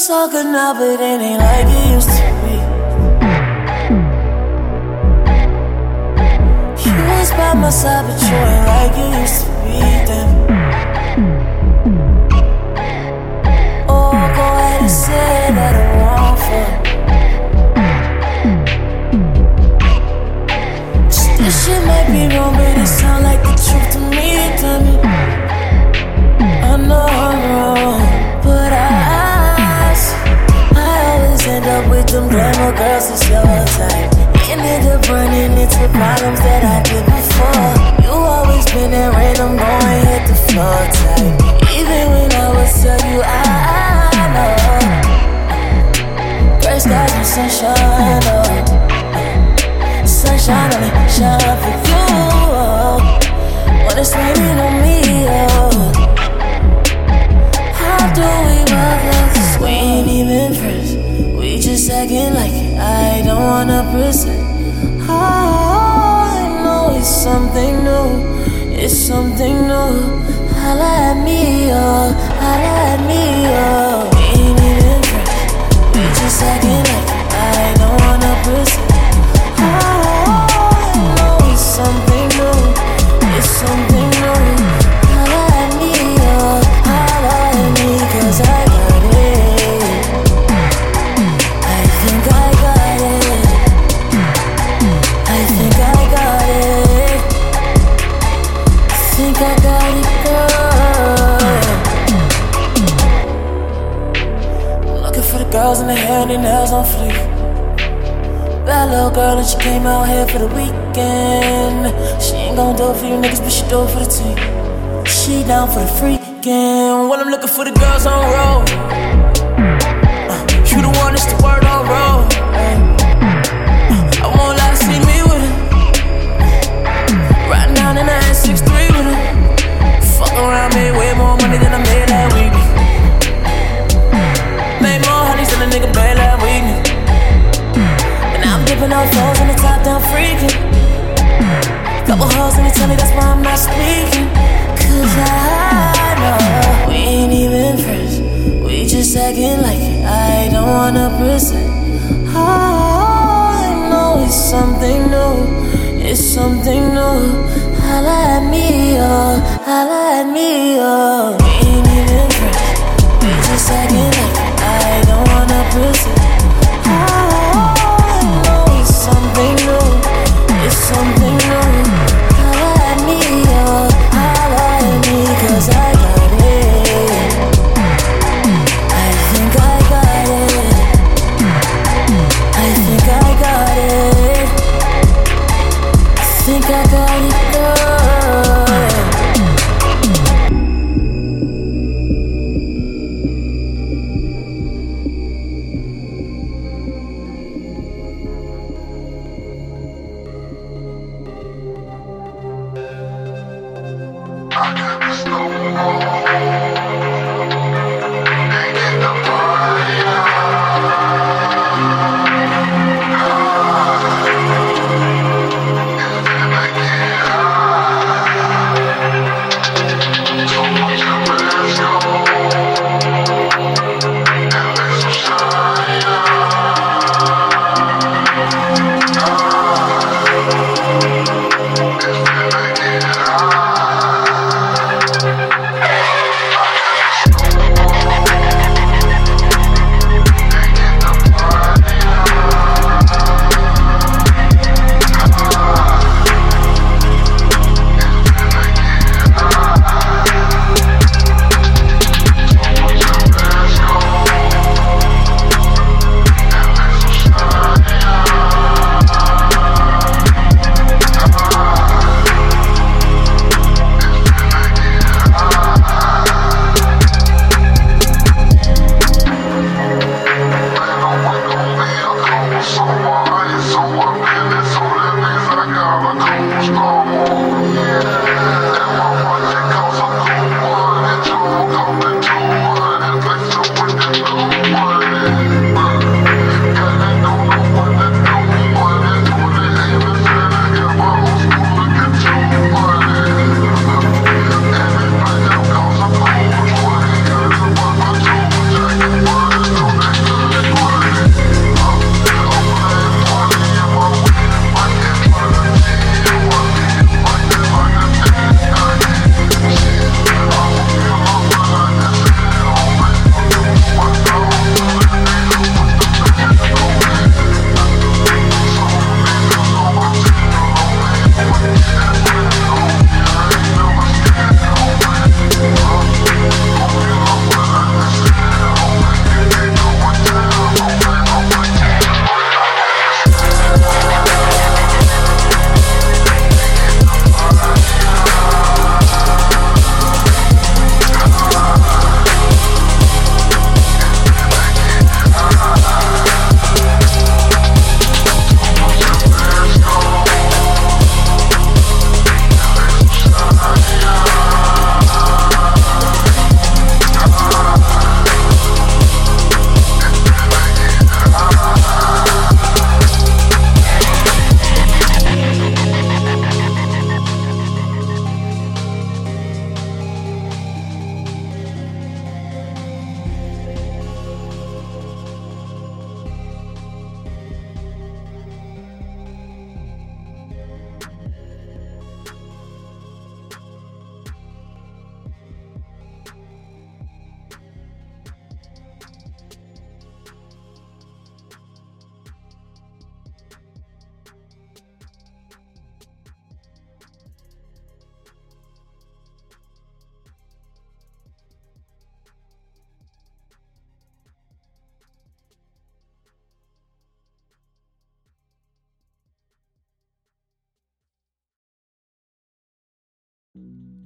It's all good now, but it ain't like it used to be. You was by my side, but you ain't like it used to be then. Oh, go ahead and say that I'm wrong for just this shit might be wrong, but it sound like the truth to me, tell me. I know I'm wrong, but I always end up with them glamour girls that's your type. Ended up running into problems that I did before. You always been that random going hit the floor type. Even when I was tell you I know gray skies and sunshine, oh. Sunshine only shine for you, oh. When it's raining on me, oh. How do we love this? We ain't even friends. We just acting like it. I don't wanna present. Oh, I know it's something new. It's something new. Holla at me, oh. Holla at me, oh. We ain't even friends. We just acting like it. I don't wanna present. Oh, I know it's something new. It's something new. Holla at me, oh. Holla at me, 'cause I got it. I think I got it. I think I got it. I think I got it, girl. Looking for the girls in the hair and their nails on fleek. Bad little girl and she came out here for the weekend. She ain't gon' do it for you niggas, but she do it for the team. She down for the freaking. Well, I'm looking for the girls on roll. You the one that's the word on roll. I won't lie, see me with it. Riding down in the S63 with it. Fuck around, made way more money than I made that week. Made more honeys than a nigga made that week. And now I'm dipping off foes in the top down freaking. Couple hoes in the telly, that's why I'm not speaking. 'Cause I know we ain't even friends. We just acting like it. I don't wanna present. Oh, I know it's something new. It's something new. Holla at me, oh. Holla at me, oh. We ain't even friends. We just acting like it. I don't wanna present. Oh, I know it's something new. It's something new. Holla at me, oh. Holla at me, 'cause I got it. I think I got it. I think I got it. I think I got it, girl.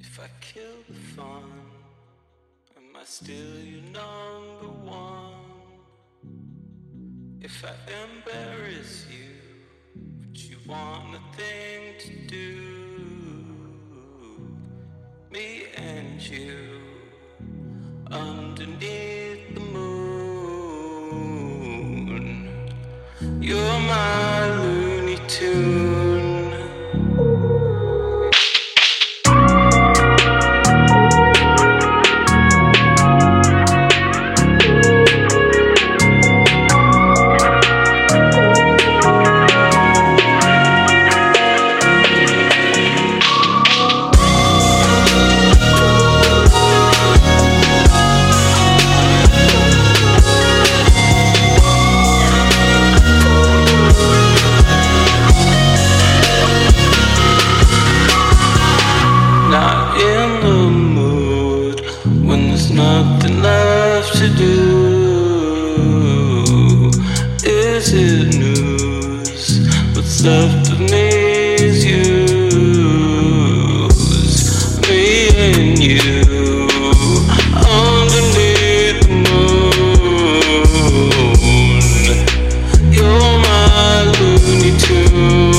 If I kill the fun, am I still your number one? If I embarrass you, would you want a thing to do? Me and you underneath the moon. You're my Looney Tune. Nothing left to do. Is it news? What's left of me is use. Me and you underneath the moon. You're my Looney Tune.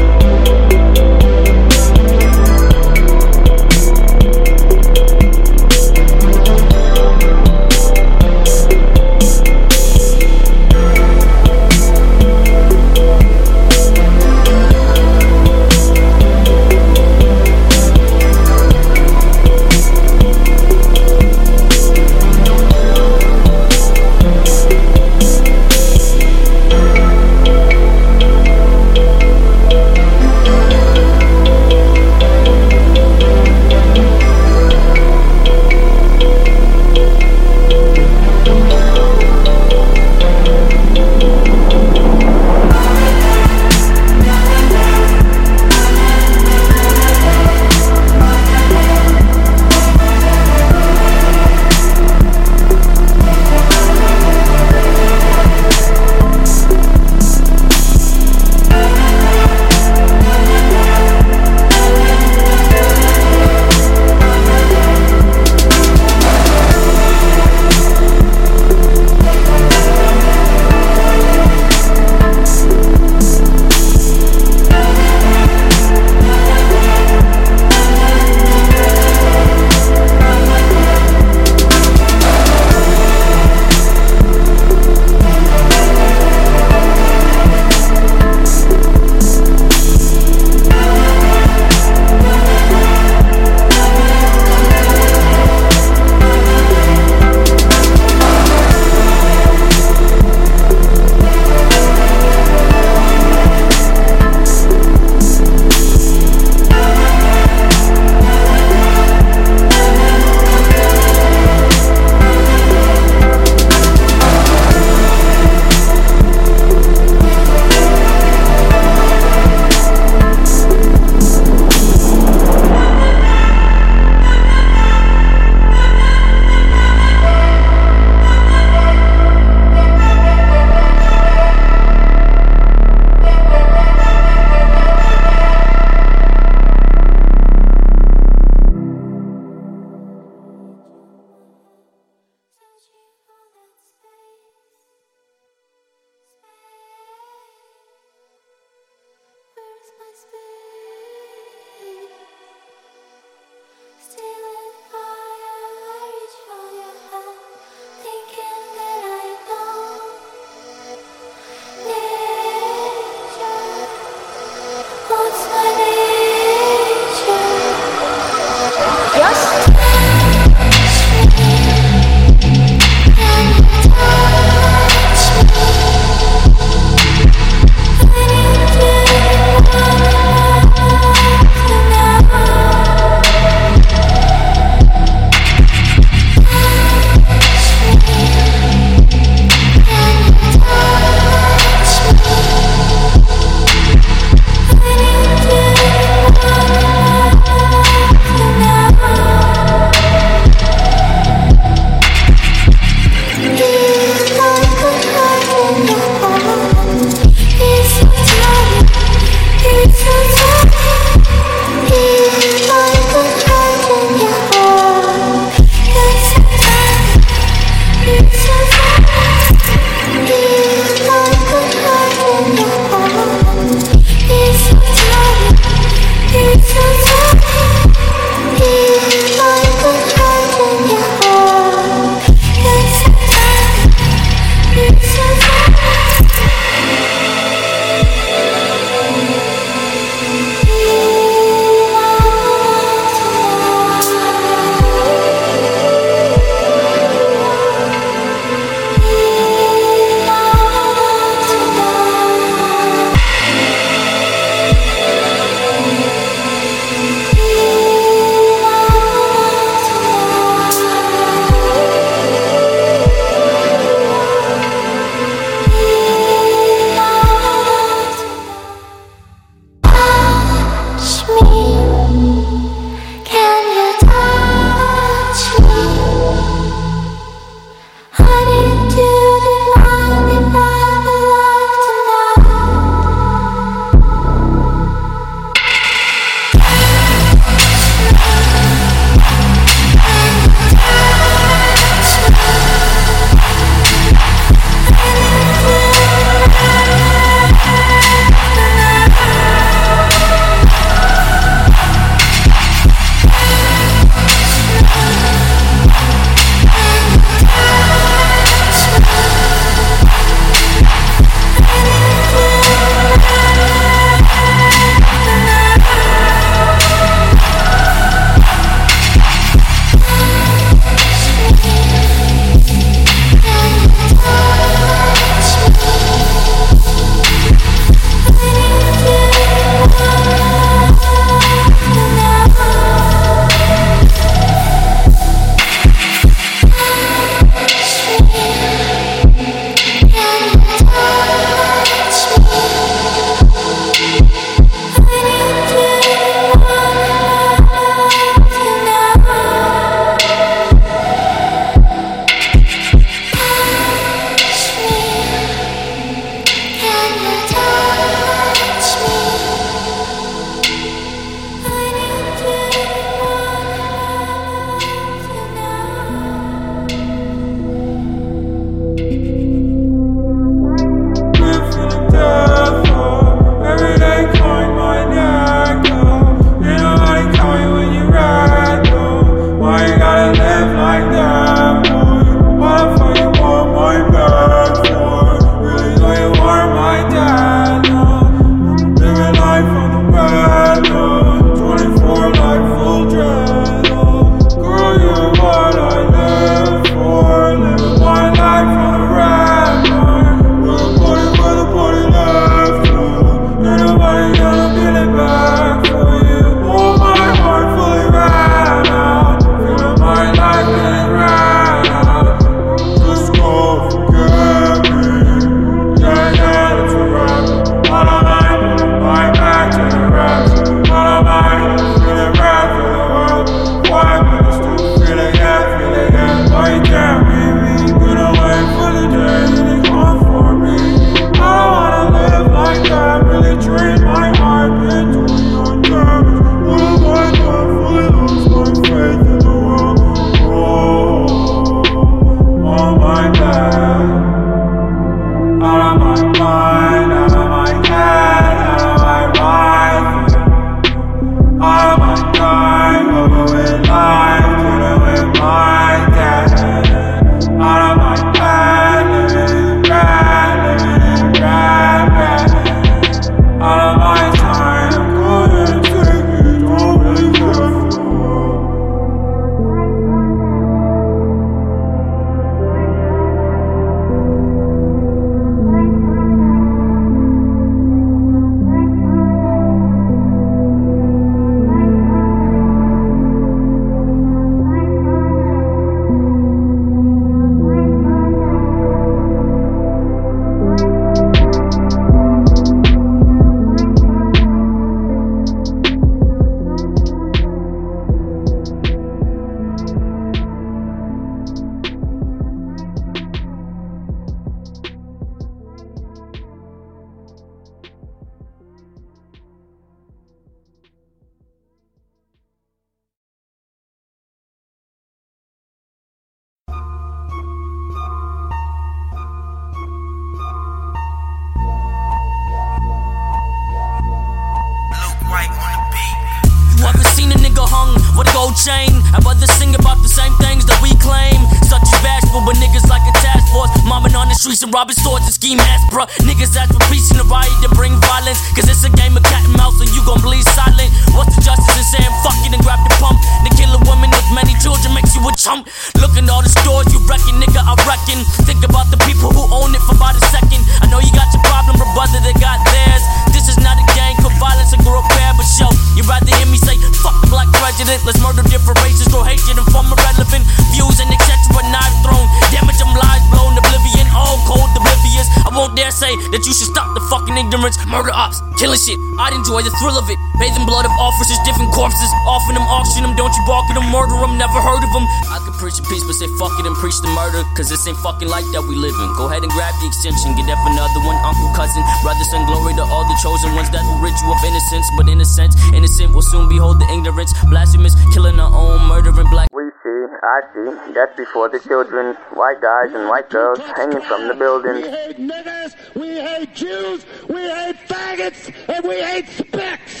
gold chain. I'd rather sing about the same things that we claim. Such as bashful, but niggas like a task force. Mobbing on the streets and robbing stores and ski masks, bruh. Niggas ask for peace in the riot to bring violence. Cause it's a game of cat and mouse and you gon' bleed silent. What's the justice in saying fuck it and grab the pump? To kill a woman with many children makes you a chump. Look at all the stores you reckon, nigga, I reckon. Think about the people who own it for about a second. I know you got your problem, but brother, they got theirs. This is not a gang for violence and grow repair, but show you'd rather hear me say fuck the black president. Let's murder different races, grow hatred and form irrelevant views and etc. Knife thrown, damage them lives blown, oblivion, all cold, oblivious. I won't dare say that you should stop the fucking ignorance. Murder ops, killing shit, I'd enjoy the thrill of it. Bathing blood of officers, different corpses, offering them, auction them, don't you bark at them, murder them, never heard of them. I could preach a peace, but say fuck it and preach the murder, cause this ain't fucking like that we live in. Go ahead and grab the extension, get that for another one, uncle, cousin, brother, son, glory to all the chosen ones that will rid you of innocence. But in a sense, innocent will soon behold the ignorance, blasphemous, killing our own, murdering black. We see, I see, that's before the children, white guys and white girls hanging from the buildings. We hate niggers, we hate Jews, we hate faggots, and we hate spicks.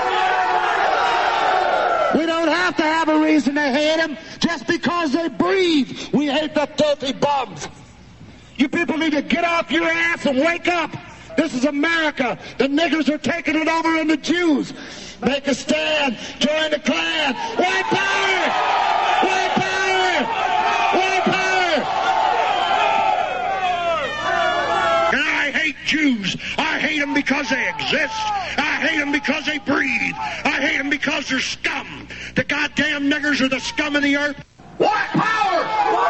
We don't have to have a reason to hate them just because they breathe. We hate the filthy bums. You people need to get off your ass and wake up. This is America. The niggers are taking it over in the Jews. Make a stand. Join the Klan. White power! White power! White power! And I hate Jews. I hate them because they exist. I hate them because they breathe. I hate them because they're scum. The goddamn niggers are the scum of the earth. White power!